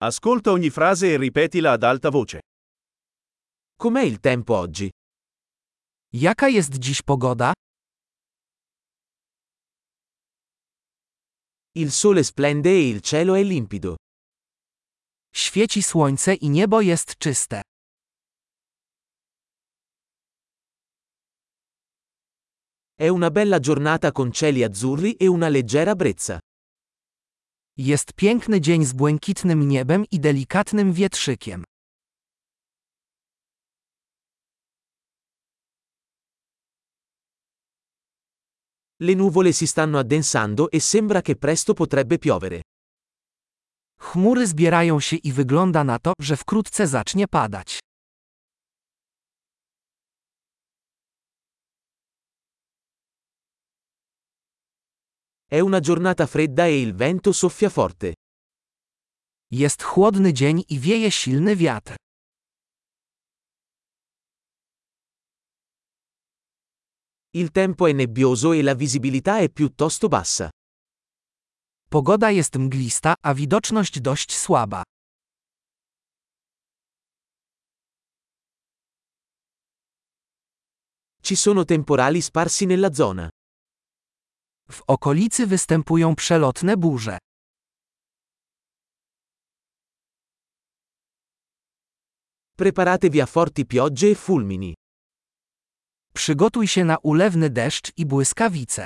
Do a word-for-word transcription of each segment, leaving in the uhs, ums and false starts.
Ascolta ogni frase e ripetila ad alta voce. Com'è il tempo oggi? Jaka jest dziś pogoda? Il sole splende e il cielo è limpido. Świeci słońce i niebo jest czyste. È una bella giornata con cieli azzurri e una leggera brezza. Jest piękny dzień z błękitnym niebem i delikatnym wietrzykiem. Le nuvole si stanno addensando e sembra che presto potrebbe piovere. Chmury zbierają się i wygląda na to, że wkrótce zacznie padać. È una giornata fredda e il vento soffia forte. Jest chłodny dzień i wieje silny wiatr. Il tempo è nebbioso e la visibilità è piuttosto bassa. Pogoda jest mglista, a widoczność dość słaba. Ci sono temporali sparsi nella zona. W okolicy występują przelotne burze. Preparatevi a forti piogge e fulmini. Przygotuj się na ulewny deszcz i błyskawice.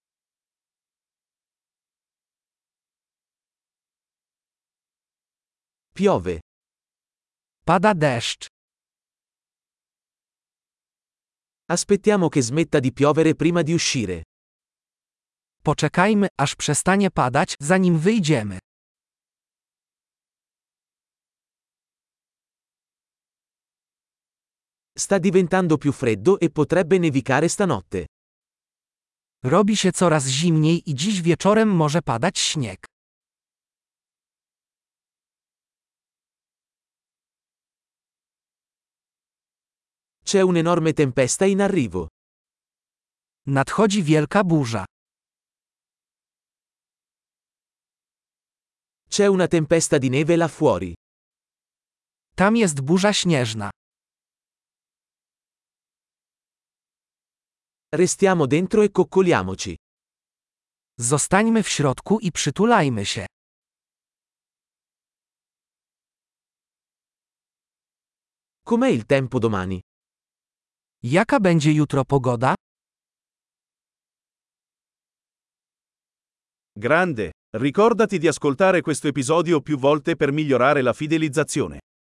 Piove. Pada deszcz. Aspettiamo che smetta di piovere prima di uscire. Poczekajmy, aż przestanie padać, zanim wyjdziemy. Sta diventando più freddo e potrebbe nevicare stanotte. Robi się coraz zimniej i dziś wieczorem może padać śnieg. C'è un'enorme tempesta in arrivo. Nadchodzi wielka burza. C'è una tempesta di neve là fuori. Tam jest burza śnieżna. Restiamo dentro e coccoliamoci. Zostańmy w środku i przytulajmy się. Com'è il tempo domani? Jaka będzie jutro pogoda? Grande! Ricordati di ascoltare questo episodio più volte per migliorare la fidelizzazione.